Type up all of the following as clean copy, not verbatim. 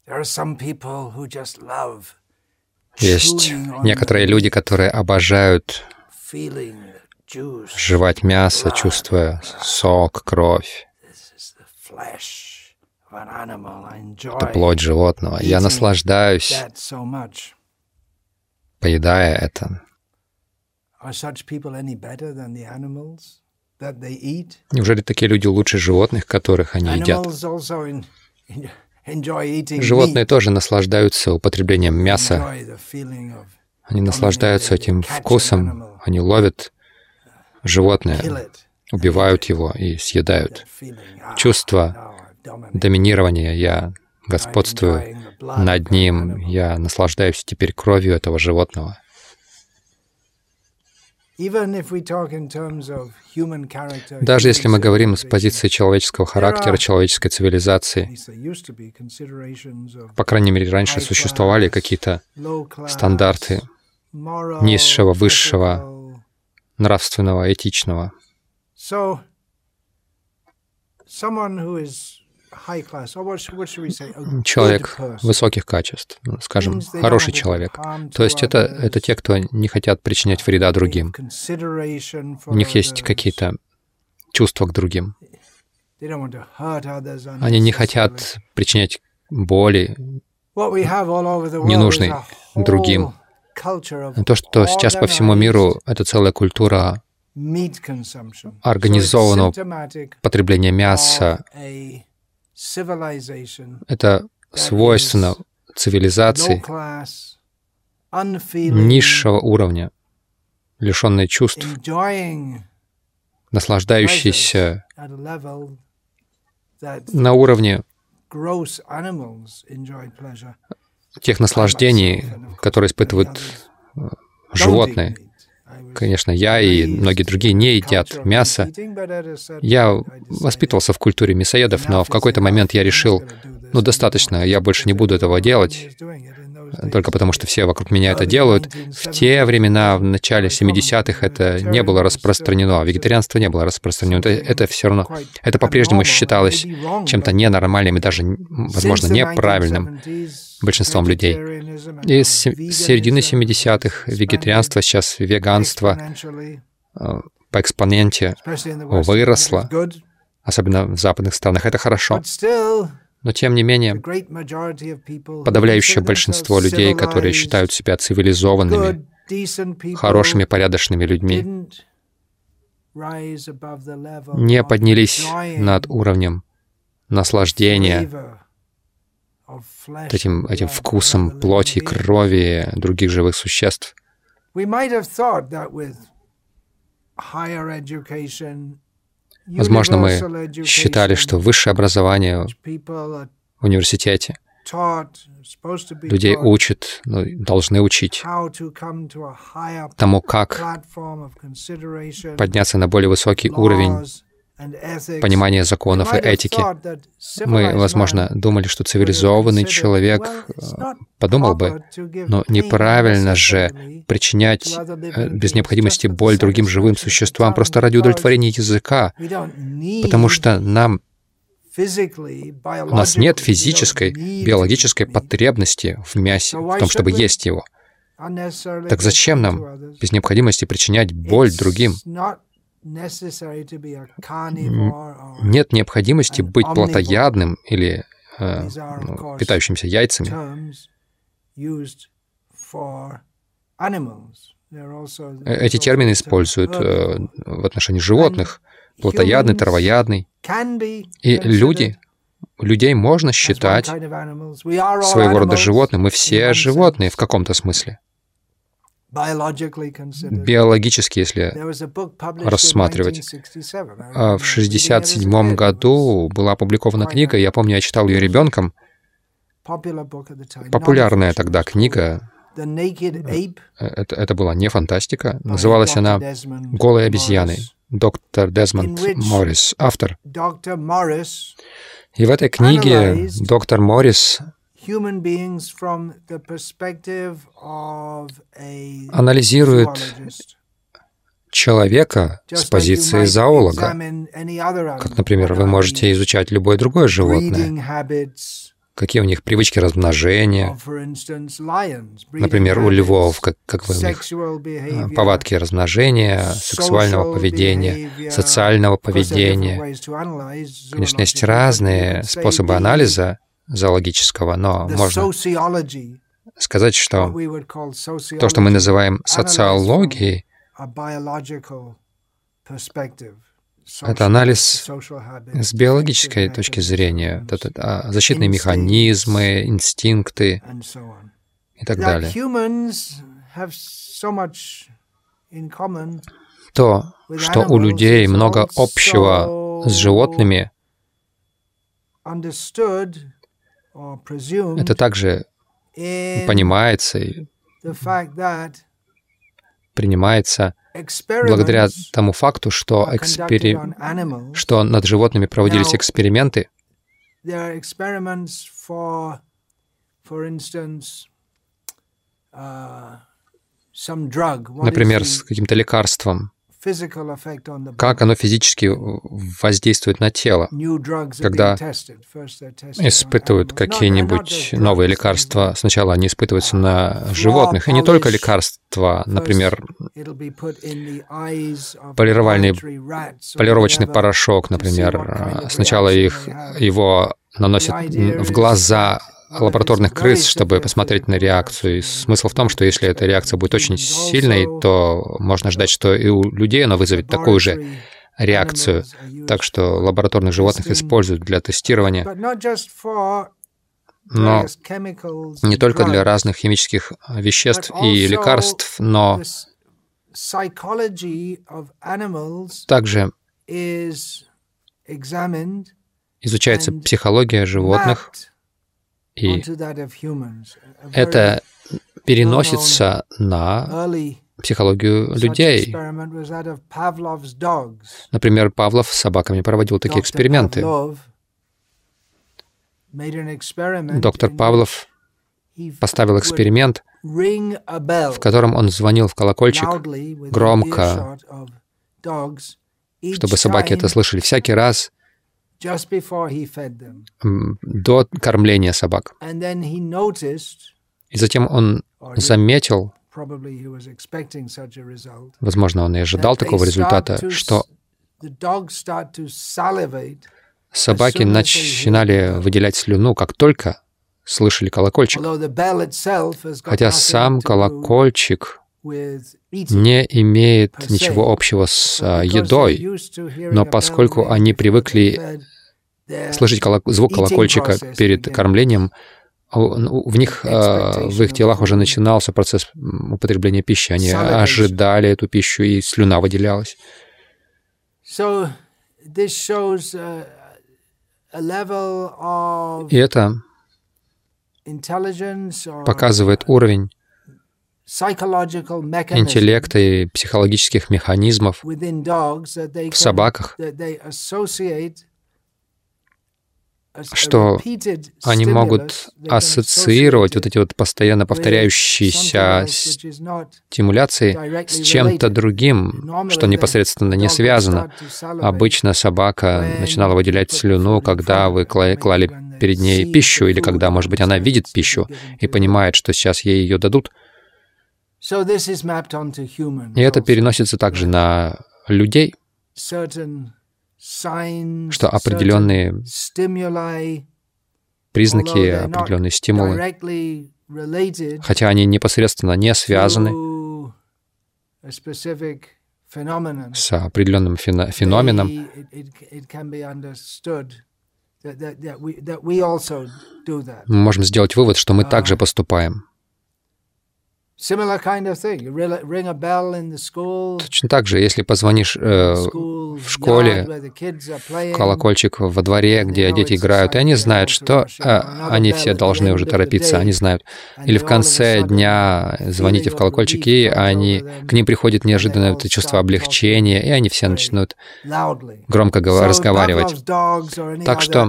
Есть некоторые люди, которые обожают жевать мясо, чувствуя сок, кровь. Это плоть животного. Я наслаждаюсь, поедая это. Неужели такие люди лучше животных, которых они едят? Животные тоже наслаждаются употреблением мяса. Они наслаждаются этим вкусом. Они ловят животное, убивают его и съедают. Чувство доминирования. Я господствую над ним. Я наслаждаюсь теперь кровью этого животного. Даже если мы говорим с позиции человеческого характера, человеческой цивилизации, по крайней мере, раньше существовали какие-то стандарты низшего, высшего, нравственного, этичного. Человек высоких качеств, скажем, хороший человек. То есть это те, кто не хотят причинять вреда другим. У них есть какие-то чувства к другим. Они не хотят причинять боли ненужной другим. То, что сейчас по всему миру, это целая культура организованного потребления мяса. Это свойственно цивилизации низшего уровня, лишенной чувств, наслаждающейся на уровне тех наслаждений, которые испытывают животные. Конечно, я и многие другие не едят мясо. Я воспитывался в культуре мясоедов, но в какой-то момент я решил, достаточно, я больше не буду этого делать, только потому что все вокруг меня это делают. В те времена, в начале 70-х, это не было распространено, вегетарианство не было распространено. Это все равно, это по-прежнему считалось чем-то ненормальным и даже, возможно, неправильным большинством людей. И с середины 70-х вегетарианство, сейчас веганство по экспоненте выросло, особенно в западных странах. Это хорошо. Но, тем не менее, подавляющее большинство людей, которые считают себя цивилизованными, хорошими, порядочными людьми, не поднялись над уровнем наслаждения этим вкусом плоти, крови других живых существ. Возможно, мы считали, что высшее образование в университете людей учат, должны учить тому, как подняться на более высокий уровень понимания законов и этики. Мы, возможно, думали, что цивилизованный человек подумал бы, но неправильно же причинять без необходимости боль другим живым существам просто ради удовлетворения языка, потому что у нас нет физической, биологической потребности в мясе, в том, чтобы есть его. Так зачем нам без необходимости причинять боль другим? Нет необходимости быть плотоядным или питающимся яйцами. Эти термины используют в отношении животных. Плотоядный, травоядный. И людей можно считать своего рода животным. Мы все животные в каком-то смысле. Биологически, если рассматривать. В 1967 году была опубликована книга, я помню, я читал ее ребенком. Популярная тогда книга. Это была не фантастика. Называлась она «Голые обезьяны». Доктор Дезмонд Моррис, автор. И в этой книге доктор Моррис анализирует человека с позиции зоолога. Как, например, вы можете изучать любое другое животное. какие у них привычки размножения. Например, у львов, каковы у них повадки размножения, сексуального поведения, социального поведения. Конечно, есть разные способы анализа зоологического, но можно сказать, что то, что мы называем социологией, это анализ с биологической точки зрения, защитные механизмы, инстинкты и так далее. То, что у людей много общего с животными, это также понимается и принимается благодаря тому факту, что над животными проводились эксперименты. Например, с каким-то лекарством, как оно физически воздействует на тело. Когда испытывают какие-нибудь новые лекарства, сначала они испытываются на животных, и не только лекарства, например, полировочный порошок, например, сначала его наносят в глаза лабораторных крыс, чтобы посмотреть на реакцию. И смысл в том, что если эта реакция будет очень сильной, то можно ждать, что и у людей она вызовет такую же реакцию. Так что лабораторных животных используют для тестирования, но не только для разных химических веществ и лекарств, но также изучается психология животных, и это переносится на психологию людей. Например, Павлов с собаками проводил такие эксперименты. Доктор Павлов поставил эксперимент, в котором он звонил в колокольчик громко, чтобы собаки это слышали всякий раз до кормления собак. И затем он заметил, возможно, он и ожидал такого результата, что собаки начинали выделять слюну, как только слышали колокольчик. Хотя сам колокольчик не имеет ничего общего с едой, но поскольку они привыкли слышать звук колокольчика перед кормлением, в их телах уже начинался процесс употребления пищи. Они ожидали эту пищу, и слюна выделялась. И это показывает уровень интеллекта и психологических механизмов в собаках, что они могут ассоциировать вот эти вот постоянно повторяющиеся стимуляции с чем-то другим, что непосредственно не связано. Обычно собака начинала выделять слюну, когда вы клали перед ней пищу, или когда, может быть, она видит пищу и понимает, что сейчас ей ее дадут. И это переносится также на людей, что определенные признаки, определенные стимулы, хотя они непосредственно не связаны с определенным феноменом, мы можем сделать вывод, что мы также поступаем. Точно так же, если позвонишь в школе, колокольчик во дворе, где дети играют, и они знают, что они все должны уже торопиться, они знают. Или в конце дня звоните в колокольчик, и к ним приходит неожиданное это чувство облегчения, и они все начнут громко разговаривать. Так что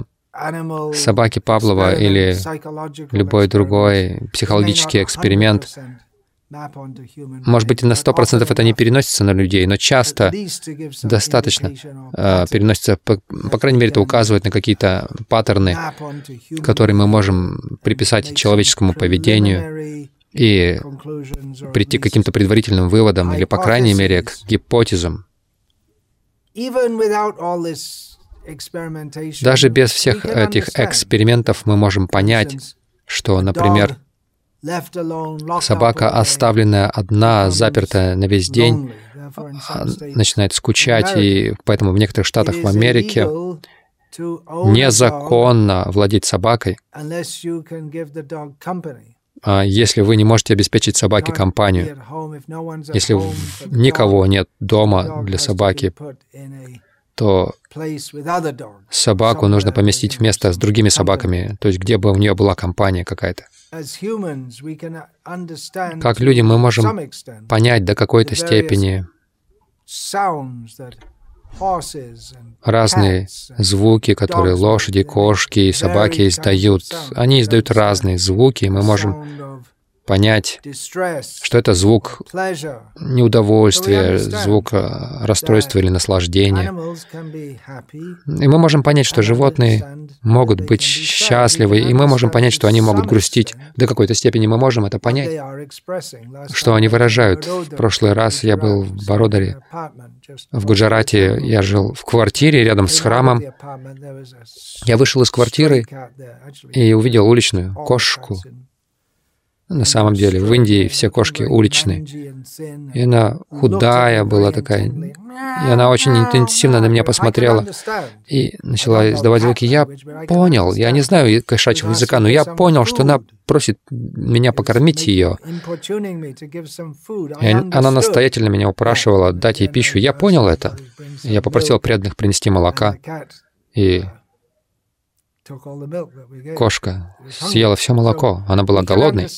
собаки Павлова или любой другой психологический эксперимент Может быть, на 100% это не переносится на людей, но часто достаточно переносится, по крайней мере, это указывает на какие-то паттерны, которые мы можем приписать человеческому поведению и прийти к каким-то предварительным выводам или, по крайней мере, к гипотезам. Даже без всех этих экспериментов мы можем понять, что, например, собака, оставленная одна, запертая на весь день, начинает скучать, и поэтому в некоторых штатах в Америке незаконно владеть собакой, если вы не можете обеспечить собаке компанию, если никого нет дома для собаки, то собаку нужно поместить вместе с другими собаками, то есть где бы у нее была компания какая-то. Как люди мы можем понять до какой-то степени разные звуки, которые лошади, кошки и собаки издают. Они издают разные звуки, и мы можем понять, что это звук неудовольствия, звук расстройства или наслаждения. И мы можем понять, что животные могут быть счастливы, и мы можем понять, что они могут грустить. До какой-то степени мы можем это понять, что они выражают. В прошлый раз я был в Бародаре, в Гуджарате. Я жил в квартире рядом с храмом. Я вышел из квартиры и увидел уличную кошку. На самом деле, в Индии все кошки уличные. И она худая была такая. И она очень интенсивно на меня посмотрела и начала издавать звуки. Я понял, я не знаю кошачьего языка, но я понял, что она просит меня покормить ее. И она настоятельно меня упрашивала дать ей пищу. Я понял это. Я попросил преданных принести молока. И кошка съела все молоко. Она была голодной.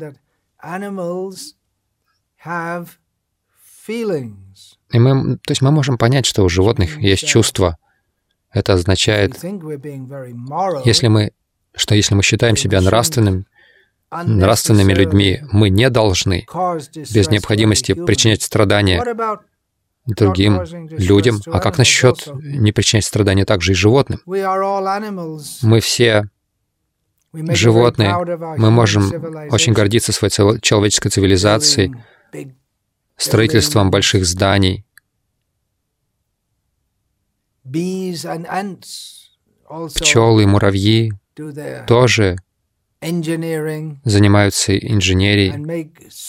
И то есть мы можем понять, что у животных есть чувства. Это означает, если мы считаем себя нравственными людьми, мы не должны без необходимости причинять страдания другим людям. А как насчет не причинять страдания также и животным? Мы все животные. Мы можем очень гордиться своей человеческой цивилизацией, строительством больших зданий. Пчелы и муравьи тоже занимаются инженерией,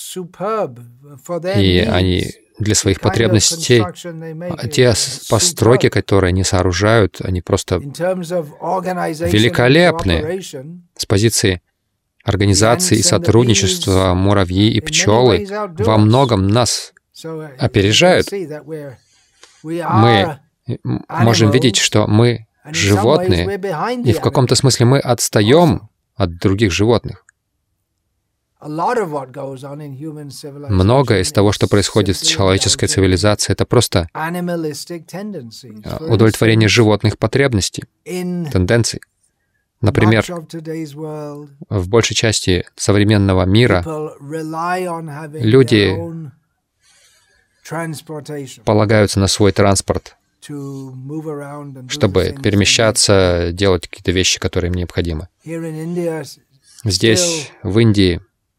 и они для своих потребностей, те постройки, которые они сооружают, они просто великолепны. С позиции организации и сотрудничества муравьи и пчелы во многом нас опережают. Мы можем видеть, что мы животные, и в каком-то смысле мы отстаем от других животных. Многое из того, что происходит в человеческой цивилизации, это просто удовлетворение животных потребностей, тенденций. Например, в большей части современного мира люди полагаются на свой транспорт, чтобы перемещаться, делать какие-то вещи, которые им необходимы. Здесь, в Индии,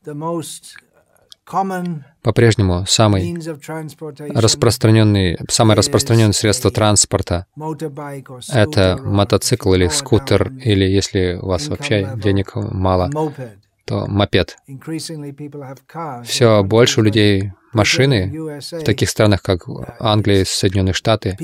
по-прежнему самое распространенное средство транспорта — это мотоцикл или скутер, или, если у вас вообще денег мало, то мопед. Все больше у людей машины в таких странах, как Англия, Соединенные Штаты.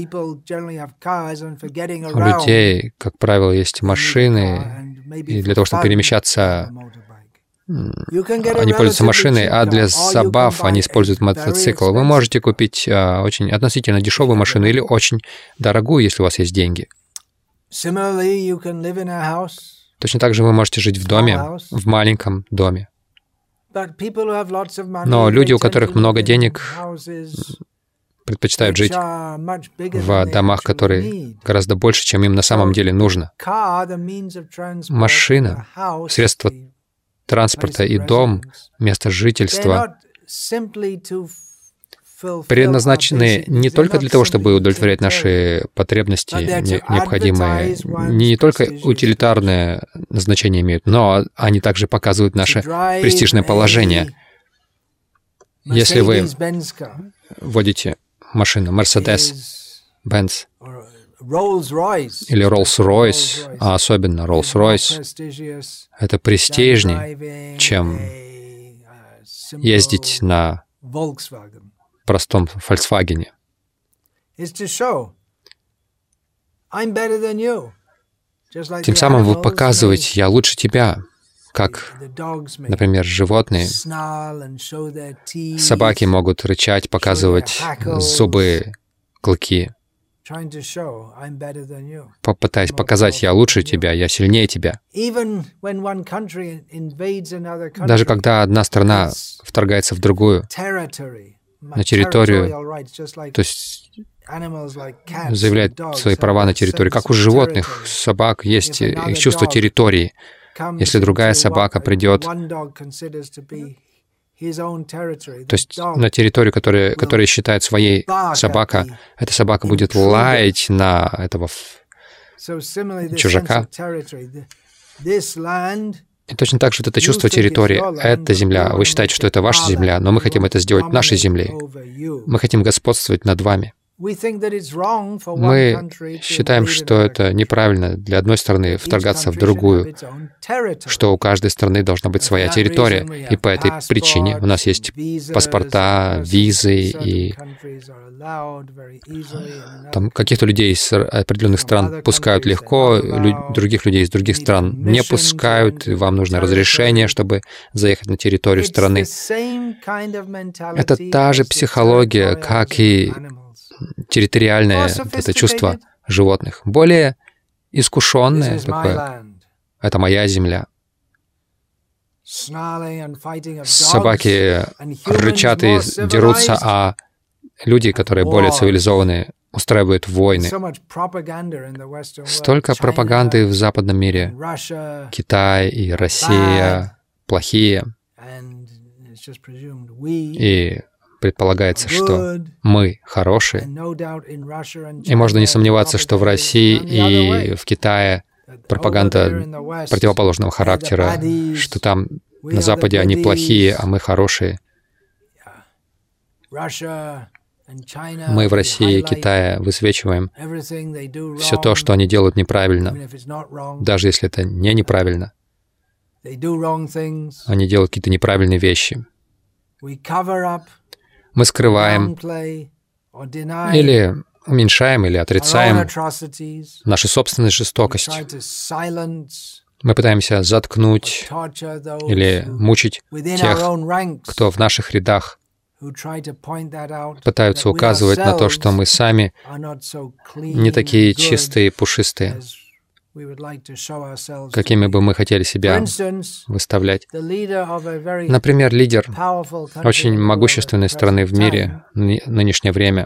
У людей, как правило, есть машины, и для того, чтобы перемещаться, они пользуются машиной, а для забав они используют мотоцикл. Вы можете купить очень относительно дешевую машину или очень дорогую, если у вас есть деньги. Точно так же вы можете жить в доме, в маленьком доме. Но люди, у которых много денег, предпочитают жить в домах, которые гораздо больше, чем им на самом деле нужно. Машина, средство транспорта и дом, место жительства предназначены не только для того, чтобы удовлетворять наши потребности необходимые, не только утилитарное назначение имеют, но они также показывают наше престижное положение. Если вы водите машину Mercedes-Benz или Rolls-Royce, а особенно Rolls-Royce, это престижнее, чем ездить на простом Volkswagen. Тем самым вы показываете, я лучше тебя, как, например, животные. Собаки могут рычать, показывать зубы, клыки, попытаясь показать, я лучше тебя, я сильнее тебя. Даже когда одна страна вторгается в другую, на территорию, то есть заявляет свои права на территорию. Как у животных, собак есть их чувство территории. Если другая собака придет, то есть на территорию, которую считает своей собака, эта собака будет лаять на этого чужака. И точно так же вот это чувство территории, это земля. Вы считаете, что это ваша земля, но мы хотим это сделать нашей землей. Мы хотим господствовать над вами. Мы считаем, что это неправильно для одной страны вторгаться в другую, что у каждой страны должна быть своя территория. И по этой причине у нас есть паспорта, визы, и там каких-то людей из определенных стран пускают легко, других людей из других стран не пускают, и вам нужно разрешение, чтобы заехать на территорию страны. Это та же психология, как и территориальное это чувство животных. Более искушенное такое. Это моя земля. Собаки рычат и дерутся, а люди, которые более цивилизованные, устраивают войны. Столько пропаганды в западном мире. Китай и Россия плохие. И предполагается, что мы хорошие. И можно не сомневаться, что в России и в Китае пропаганда противоположного характера, что там на Западе они плохие, а мы хорошие. Мы в России и Китае высвечиваем все то, что они делают неправильно, даже если это не неправильно. Они делают какие-то неправильные вещи. Мы скрываем или уменьшаем, или отрицаем нашу собственную жестокость. Мы пытаемся заткнуть или мучить тех, кто в наших рядах пытаются указывать на то, что мы сами не такие чистые, пушистые, какими бы мы хотели себя выставлять. Например, лидер очень могущественной страны в мире в нынешнее время,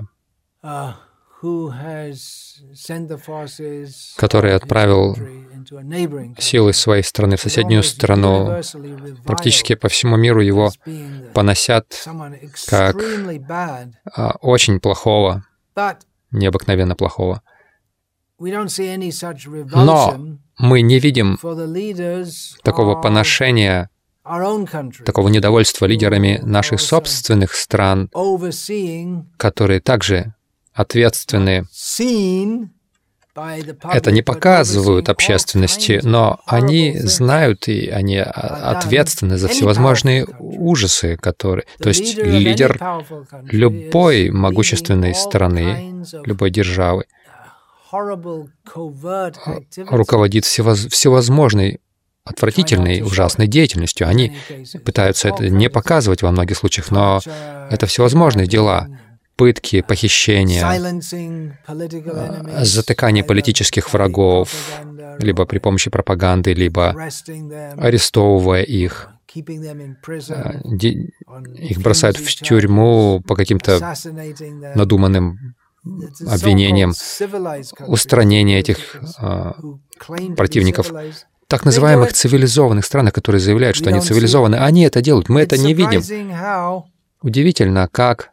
который отправил силы своей страны в соседнюю страну, практически по всему миру его поносят как очень плохого, необыкновенно плохого. Но мы не видим такого поношения, такого недовольства лидерами наших собственных стран, которые также ответственны. Это не показывают общественности, но они знают, и они ответственны за всевозможные ужасы, которые... То есть лидер любой могущественной страны, любой державы, руководит всевозможной отвратительной, ужасной деятельностью. Они пытаются это не показывать во многих случаях, но это всевозможные дела. Пытки, похищения, затыкание политических врагов, либо при помощи пропаганды, либо арестовывая их. Их бросают в тюрьму по каким-то надуманным обвинениям, устранение этих противников. Так называемых цивилизованных странах, которые заявляют, что они цивилизованы, они это делают, мы это не видим. Удивительно, как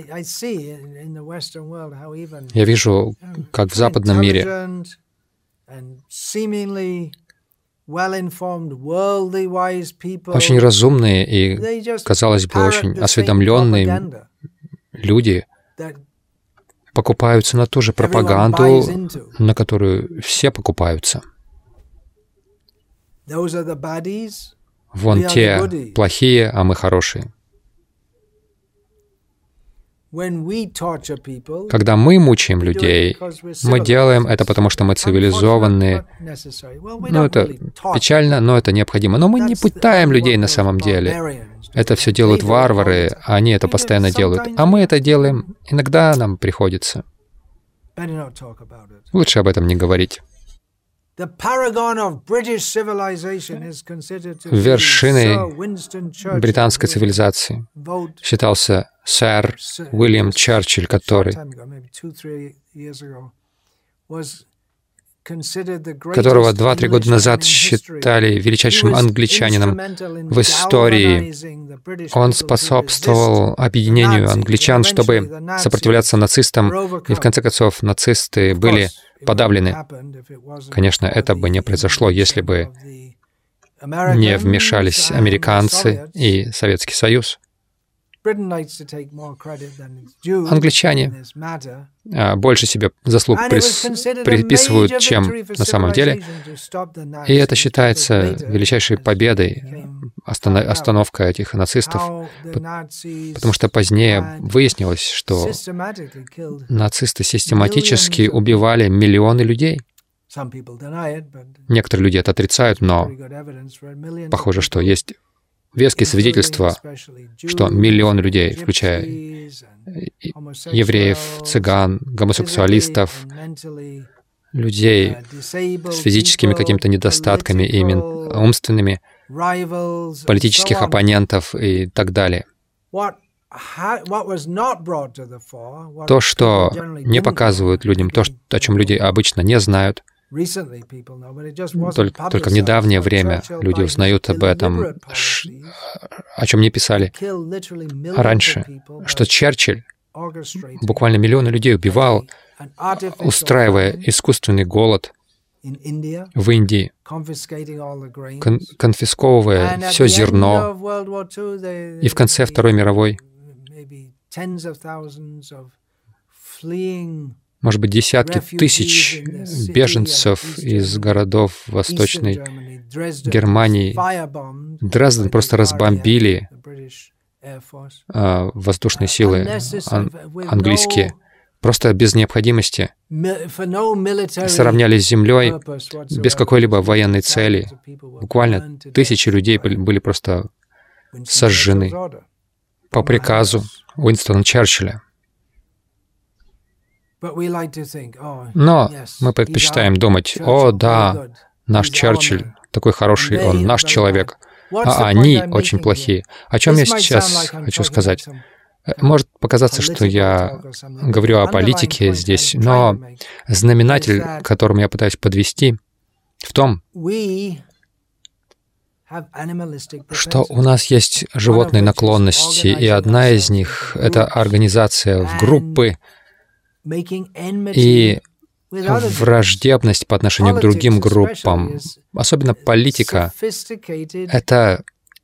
я вижу, как в западном мире очень разумные и, казалось бы, очень осведомленные люди покупаются на ту же пропаганду, на которую все покупаются. Вон те плохие, а мы хорошие. Когда мы мучаем людей, мы делаем это потому, что мы цивилизованные. Ну, это печально, но это необходимо. Но мы не пытаем людей на самом деле. Это все делают варвары, а они это постоянно делают. А мы это делаем. Иногда нам приходится. Лучше об этом не говорить. Вершиной британской цивилизации считался сэр Уильям Черчилль, которого 2-3 года назад считали величайшим англичанином в истории. Он способствовал объединению англичан, чтобы сопротивляться нацистам, и в конце концов нацисты были подавлены. Конечно, это бы не произошло, если бы не вмешались американцы и Советский Союз. Англичане больше себе заслуг приписывают, чем на самом деле. И это считается величайшей победой, остановка этих нацистов, потому что позднее выяснилось, что нацисты систематически убивали миллионы людей. Некоторые люди это отрицают, но похоже, что есть веские свидетельства, что миллионы людей, включая евреев, цыган, гомосексуалистов, людей с физическими какими-то недостатками и умственными, политических оппонентов и так далее. То, что не показывают людям, то, о чем люди обычно не знают, только в недавнее время люди узнают об этом, о чем не писали раньше, что Черчилль буквально миллионы людей убивал, устраивая искусственный голод в Индии, конфисковывая все зерно, и в конце Второй мировой, может быть, десятки тысяч беженцев из городов Восточной Германии. Дрезден просто разбомбили воздушные силы английские. Просто без необходимости сравнялись с землей, без какой-либо военной цели. Буквально тысячи людей были просто сожжены по приказу Уинстона Черчилля. Но мы предпочитаем думать: «О, да, наш Черчилль такой хороший, он наш человек, а они очень плохие». О чем я сейчас хочу сказать? Может показаться, что я говорю о политике здесь, но знаменатель, к которому я пытаюсь подвести, в том, что у нас есть животные наклонности, и одна из них — это организация в группы, и враждебность по отношению к другим группам, особенно политика, это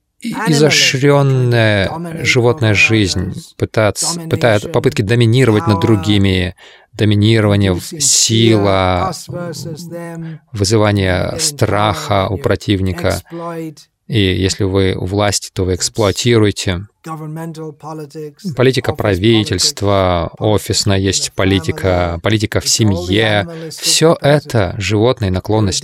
изощренная животная жизнь, попытки доминировать над другими, доминирование, сила, вызывание страха у противника. И если вы у власти, то вы эксплуатируете. Политика правительства, офисная есть политика, политика в семье. Все это животные наклонности.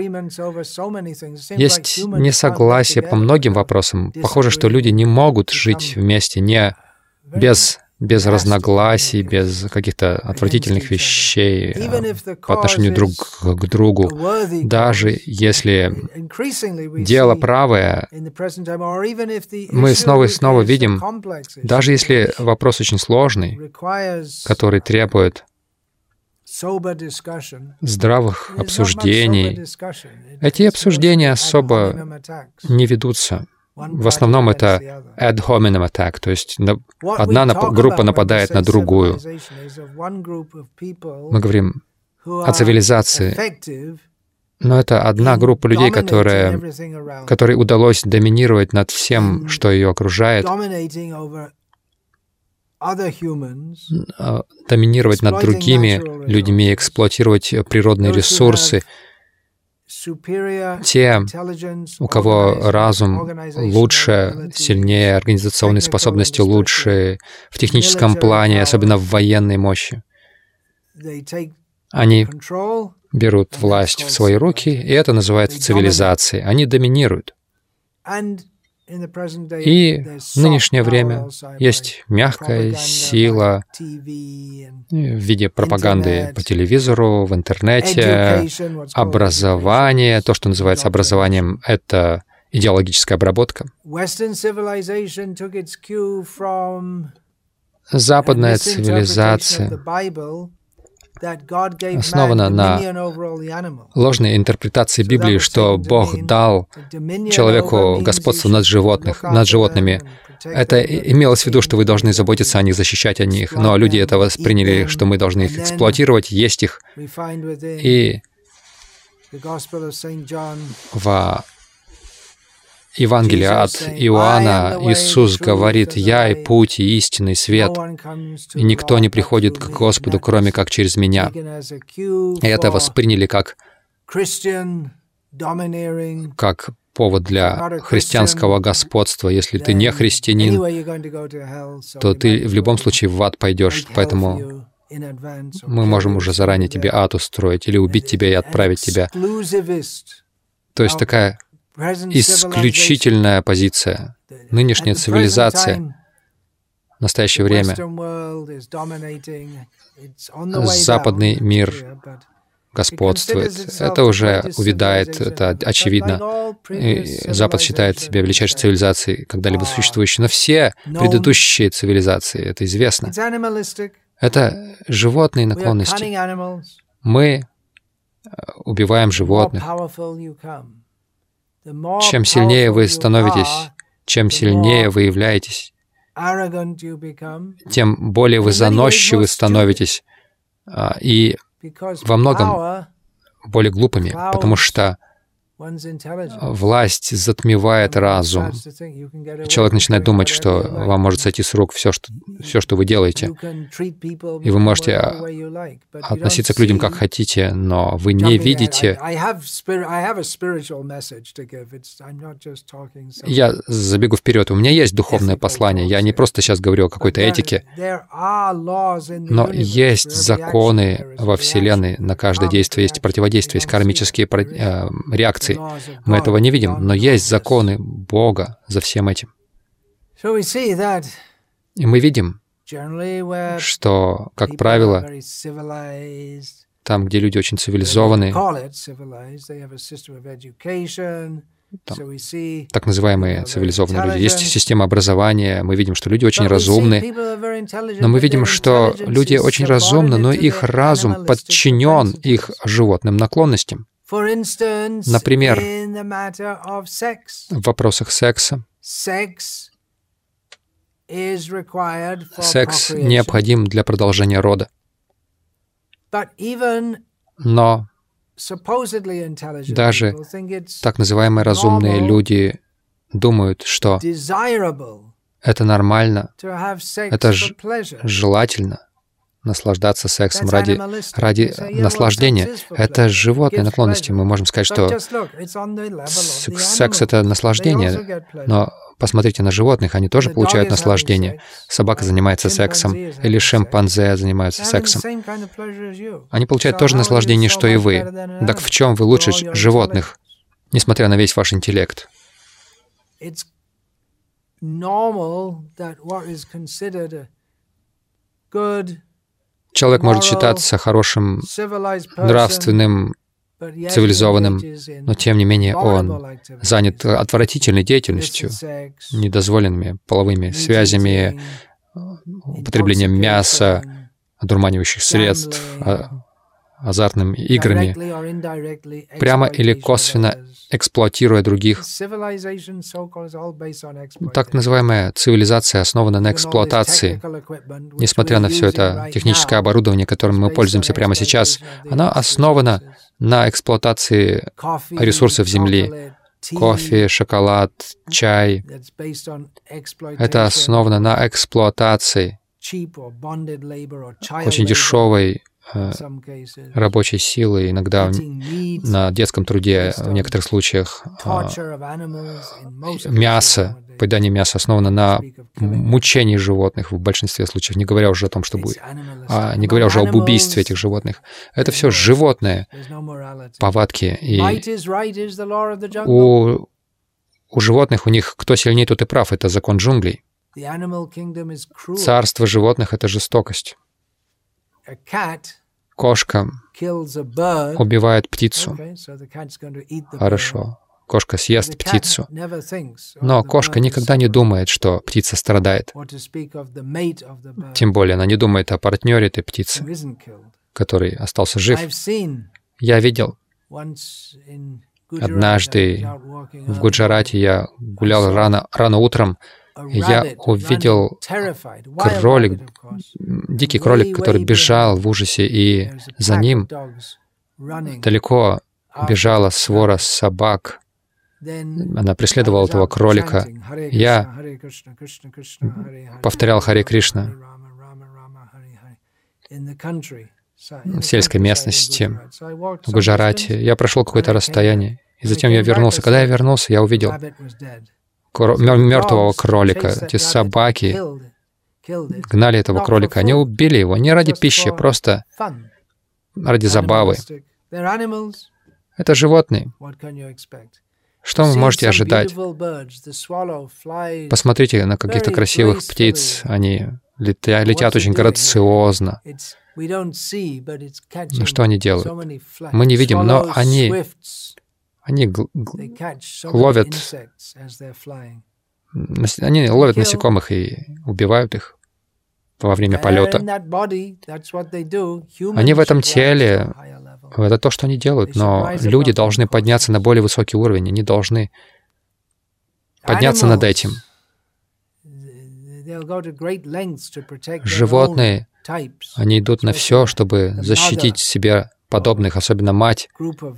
Есть несогласие по многим вопросам. Похоже, что люди не могут жить вместе без разногласий, без каких-то отвратительных вещей по отношению друг к другу. Даже если дело правое, мы снова и снова видим, даже если вопрос очень сложный, который требует здравых обсуждений, эти обсуждения особо не ведутся. В основном это ad hominem attack, то есть одна группа нападает на другую. Мы говорим о цивилизации, но это одна группа людей, которой удалось доминировать над всем, что ее окружает, доминировать над другими людьми, эксплуатировать природные ресурсы. Те, у кого разум лучше, сильнее, организационные способности лучше, в техническом плане, особенно в военной мощи, они берут власть в свои руки, и это называется цивилизацией. Они доминируют. И в нынешнее время есть мягкая сила в виде пропаганды по телевизору, в интернете, образование. То, что называется образованием, это идеологическая обработка. Западная цивилизация основана на ложной интерпретации Библии, что Бог дал человеку господство над животными. Это имелось в виду, что вы должны заботиться о них, защищать о них, но люди это восприняли, что мы должны их эксплуатировать, есть их. И в Евангелии от Иоанна Иисус говорит: «Я и путь, и истинный свет, и никто не приходит к Господу, кроме как через Меня». И это восприняли как повод для христианского господства. Если ты не христианин, то ты в любом случае в ад пойдешь, поэтому мы можем уже заранее тебе ад устроить или убить тебя и отправить тебя. То есть такая исключительная позиция. Нынешняя цивилизация, в настоящее время, западный мир господствует. Это уже увядает, это очевидно. И Запад считает себя величайшей цивилизацией, когда-либо существующей. Но все предыдущие цивилизации, это известно, это животные наклонности. Мы убиваем животных. Чем сильнее вы становитесь, чем сильнее вы являетесь, тем более вы заносчивы становитесь и во многом более глупыми, потому что власть затмевает разум. Человек начинает думать, что вам может сойти с рук все, что вы делаете. И вы можете относиться к людям как хотите, но вы не видите... Я забегу вперед. У меня есть духовное послание. Я не просто сейчас говорю о какой-то этике. Но есть законы во Вселенной. На каждое действие есть противодействие, есть кармические реакции. Мы этого не видим, но есть законы Бога за всем этим. И мы видим, что, как правило, там, где люди очень цивилизованы, так называемые цивилизованные люди, есть система образования, мы видим, что люди очень разумны, но мы видим, что люди очень разумны, но их разум подчинен их животным наклонностям. Например, в вопросах секса. Секс необходим для продолжения рода. Но даже так называемые разумные люди думают, что это нормально, это желательно наслаждаться сексом ради наслаждения. Это животные наклонности. Мы можем сказать, что секс — это наслаждение, но посмотрите на животных, они тоже получают наслаждение. Собака занимается сексом, или шимпанзе занимаются сексом. Они получают тоже наслаждение, что и вы. Так в чем вы лучше животных, несмотря на весь ваш интеллект? Человек может считаться хорошим, нравственным, цивилизованным, но тем не менее он занят отвратительной деятельностью, недозволенными половыми связями, употреблением мяса, одурманивающих средств, азартными играми, прямо или косвенно эксплуатируя других. Так называемая цивилизация основана на эксплуатации. Несмотря на все это техническое оборудование, которым мы пользуемся прямо сейчас, она основана на эксплуатации ресурсов Земли. Кофе, шоколад, чай. Это основано на эксплуатации очень дешевой рабочей силы, иногда на детском труде, в некоторых случаях мясо, поедание мяса основано на мучении животных в большинстве случаев, не говоря уже о том, что будет, не говоря уже об убийстве этих животных. Это все животные повадки. И у животных, у них кто сильнее, тот и прав. Это закон джунглей. Царство животных — это жестокость. Кошка убивает птицу. Хорошо. Кошка съест птицу. Но кошка никогда не думает, что птица страдает. Тем более она не думает о партнере этой птицы, который остался жив. Я видел однажды в Гуджарате, я гулял рано утром, и я увидел дикий кролик, который бежал в ужасе, и за ним далеко бежала свора собак. Она преследовала этого кролика. Я повторял Харе Кришна в сельской местности, в Гуджарате. Я прошел какое-то расстояние, и затем я вернулся. Когда я вернулся, я увидел мертвого кролика. Эти собаки гнали этого кролика. Они убили его не ради пищи, просто ради забавы. Это животные. Что вы можете ожидать? Посмотрите на каких-то красивых птиц. Они летят очень грациозно. Но что они делают? Мы не видим, но они ловят насекомых и убивают их во время полета. Они в этом теле, это то, что они делают, но люди должны подняться на более высокий уровень, они должны подняться над этим. Животные, они идут на все, чтобы защитить себя подобных, особенно мать.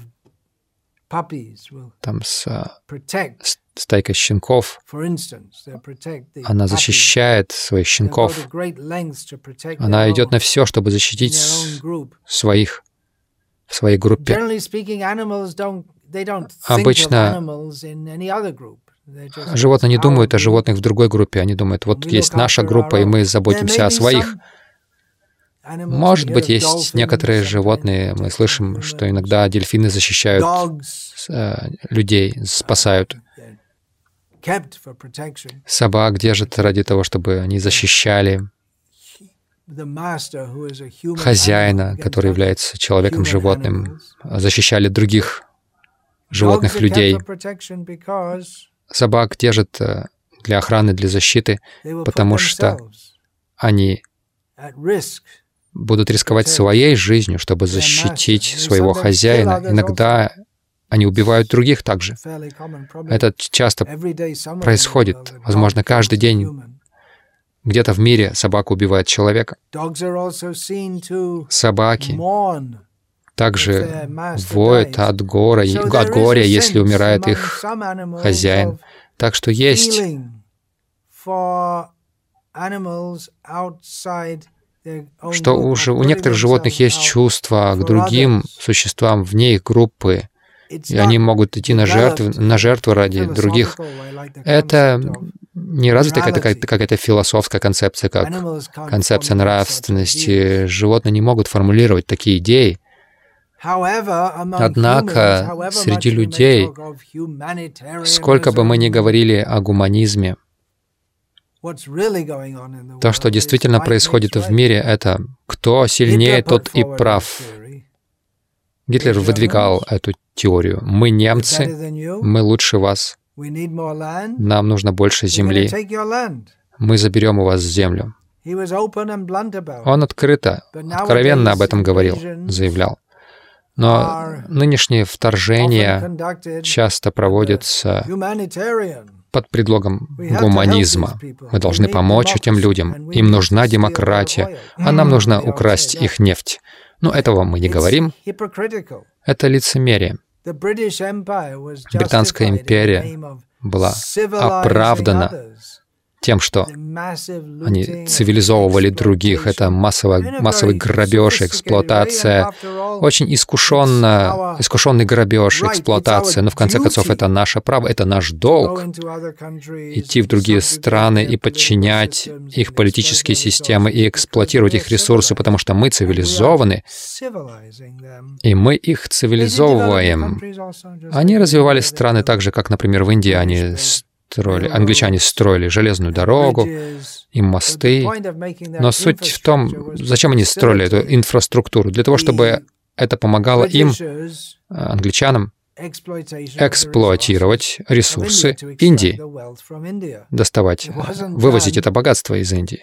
Там стайка щенков, она защищает своих щенков. Она идет на все, чтобы защитить своих в своей группе. Обычно животные не думают о животных в другой группе. Они думают, вот есть наша группа, и мы заботимся о своих. Может быть, есть некоторые животные, мы слышим, что иногда дельфины защищают людей, спасают. Собак держат ради того, чтобы они защищали хозяина, который является человеком-животным, защищали других животных, людей. Собак держат для охраны, для защиты, потому что они будут рисковать своей жизнью, чтобы защитить своего хозяина. Иногда они убивают других также. Это часто происходит, возможно, каждый день. Где-то в мире собака убивает человека. Собаки также воют от горя, если умирает их хозяин. Так что есть что у некоторых животных есть чувства к другим существам вне их группы, и они могут идти на жертву ради других. Это не развитая какая-то философская концепция, как концепция нравственности. Животные не могут формулировать такие идеи. Однако среди людей, сколько бы мы ни говорили о гуманизме, то, что действительно происходит в мире, это кто сильнее, тот и прав. Гитлер выдвигал эту теорию. Мы немцы, мы лучше вас. Нам нужно больше земли. Мы заберем у вас землю. Он откровенно об этом говорил, заявлял. Но нынешние вторжения часто проводятся под предлогом гуманизма. Мы должны помочь этим людям. Им нужна демократия, а нам нужно украсть их нефть. Но этого мы не говорим. Это лицемерие. Британская империя была оправдана тем, что они цивилизовывали других. Это массовый грабеж, эксплуатация, очень искушенный грабеж, эксплуатация. Но в конце концов, это наше право, это наш долг идти в другие страны и подчинять их политические системы и эксплуатировать их ресурсы, потому что мы цивилизованы, и мы их цивилизовываем. Они развивали страны так же, как, например, в Индии англичане строили железную дорогу и мосты. Но суть в том, зачем они строили эту инфраструктуру? Для того, чтобы это помогало им, англичанам, эксплуатировать ресурсы Индии, вывозить это богатство из Индии.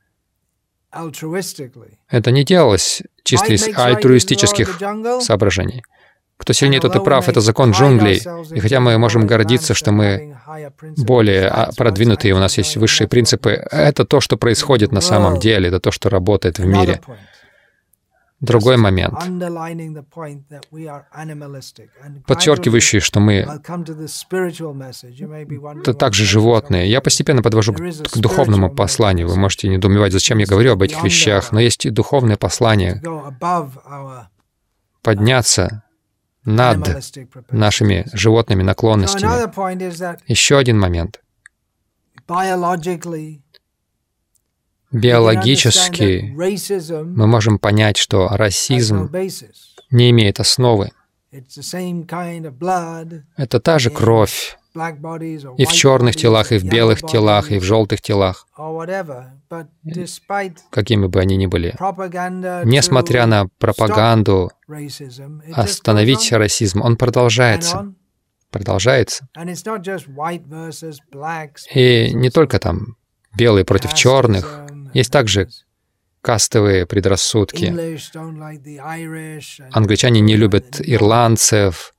Это не делалось чисто из альтруистических соображений. Кто сильнее, тот и прав. Это закон джунглей. И хотя мы можем гордиться, что мы более продвинутые, у нас есть высшие принципы, это то, что происходит на самом деле, это то, что работает в мире. Другой момент, подчеркивающий, что мы также животные. Я постепенно подвожу к духовному посланию. Вы можете недоумевать, зачем я говорю об этих вещах, но есть и духовное послание подняться над нашими животными наклонностями. Еще один момент. Биологически мы можем понять, что расизм не имеет основы. Это та же кровь и в черных телах, и в белых телах, и в желтых телах, какими бы они ни были. Несмотря на пропаганду остановить расизм, он продолжается. И не только там белые против черных, есть также кастовые предрассудки. Англичане не любят ирландцев.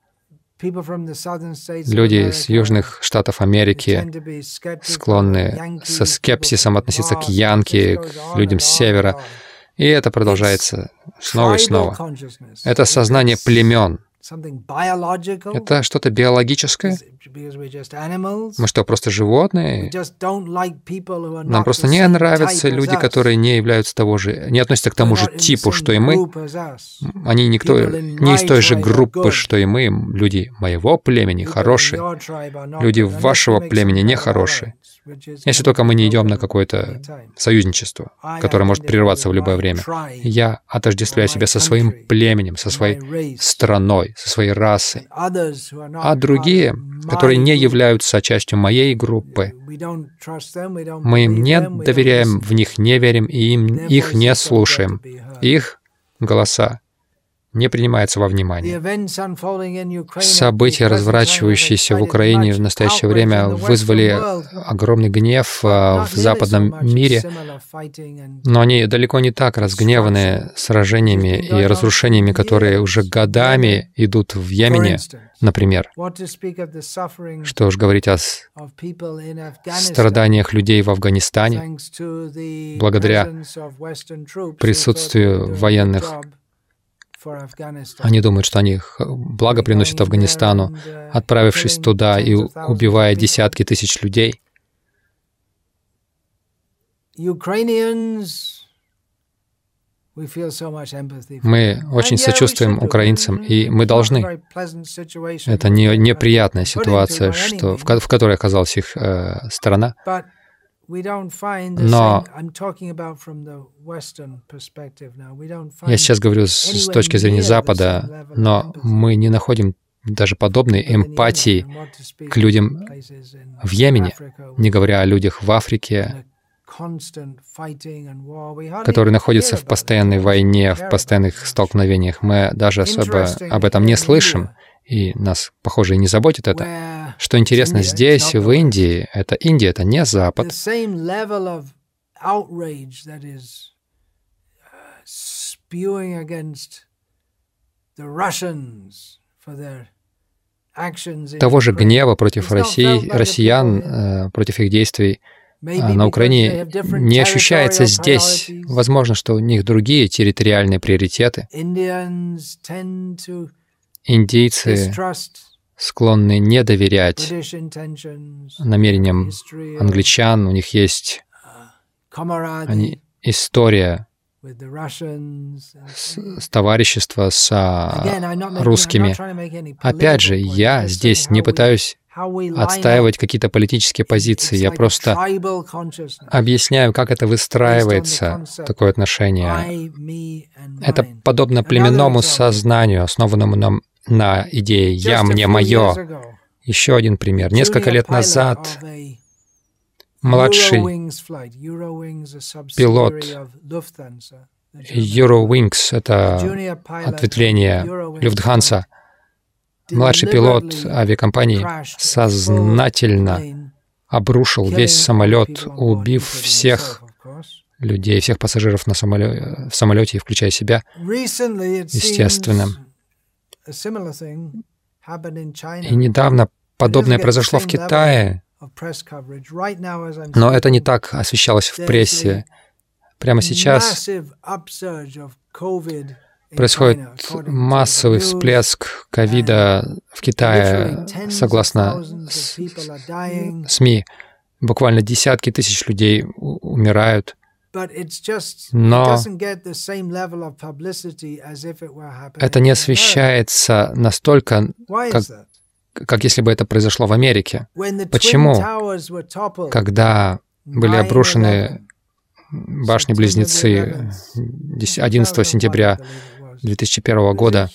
Люди из южных штатов Америки склонны со скепсисом относиться к янки, к людям с севера. И это продолжается снова и снова. Это сознание племен. Это что-то биологическое? Мы что, просто животные? Нам просто не нравятся люди, которые не являются не относятся к тому же типу, что и мы. Они не из той же группы, что и мы. Люди моего племени хорошие. Люди вашего племени нехорошие. Если только мы не идем на какое-то союзничество, которое может прерваться в любое время. Я отождествляю себя со своим племенем, со своей страной, со своей расой. А другие, которые не являются частью моей группы, мы им не доверяем, в них не верим, и их не слушаем. Их голоса не принимается во внимание. События, разворачивающиеся в Украине в настоящее время, вызвали огромный гнев в западном мире, но они далеко не так разгневаны сражениями и разрушениями, которые уже годами идут в Йемене, например. Что уж говорить о страданиях людей в Афганистане, благодаря присутствию военных. Они думают, что они благо приносят Афганистану, отправившись туда и убивая десятки тысяч людей. Мы очень сочувствуем украинцам, и мы должны. Это неприятная ситуация, в которой оказалась их страна. Но я сейчас говорю с точки зрения Запада, но мы не находим даже подобной эмпатии к людям в Йемене, не говоря о людях в Африке, которые находятся в постоянной войне, в постоянных столкновениях. Мы даже особо об этом не слышим, и нас, похоже, и не заботит это. Что интересно, здесь, в Индии, Индия — это не Запад. того же гнева против россиян, против их действий на Украине не ощущается здесь. Возможно, что у них другие территориальные приоритеты. Индийцы склонны не доверять намерениям англичан. У них есть история товарищества с русскими. Опять же, я здесь не пытаюсь отстаивать какие-то политические позиции. Я просто объясняю, как это выстраивается, такое отношение. Это подобно племенному сознанию, основанному на идее «я, мне, мое». Еще один пример. Несколько лет назад младший пилот Eurowings, это ответвление Люфтганса, младший пилот авиакомпании сознательно обрушил весь самолет, убив всех людей, всех пассажиров в самолете, включая себя, естественно. И недавно подобное произошло в Китае, но это не так освещалось в прессе. Прямо сейчас происходит массовый всплеск ковида в Китае, согласно СМИ. Буквально десятки тысяч людей умирают. Но это не освещается настолько, как если бы это произошло в Америке. Почему, когда были обрушены башни-близнецы 11 сентября 2001 года,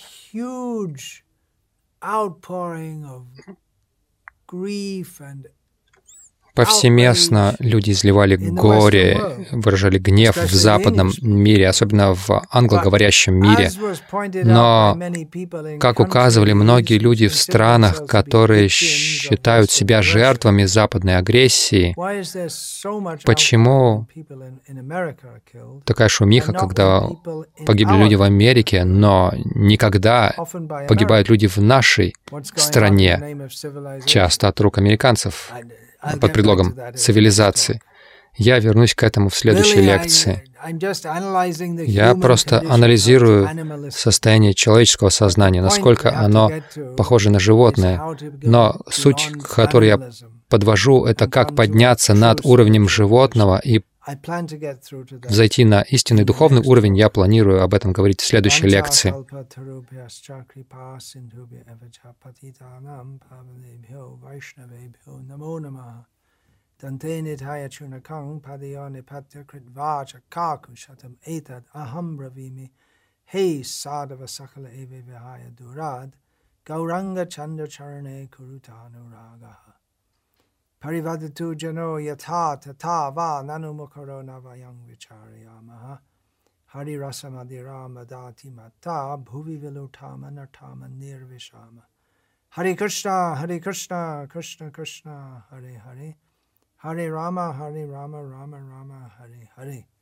повсеместно люди изливали горе, выражали гнев в западном мире, особенно в англоговорящем мире. Но, как указывали многие люди в странах, которые считают себя жертвами западной агрессии, почему такая шумиха, когда погибли люди в Америке, но никогда погибают люди в нашей стране, часто от рук американцев, под предлогом цивилизации. Я вернусь к этому в следующей лекции. Я просто анализирую состояние человеческого сознания, насколько оно похоже на животное. Но суть, к которой я подвожу, это как подняться над уровнем животного и взойти на истинный духовный уровень. Я планирую об этом говорить в следующей лекции. Parivadatu jano yatha tata va nanumukaro navayang vicharayamaha Hari rasamadira madati mata bhuvi vilutama nartama nirvishama Hare Krishna, Krishna Krishna, Hare Hare Hare Rama, Rama Rama, Hare Hare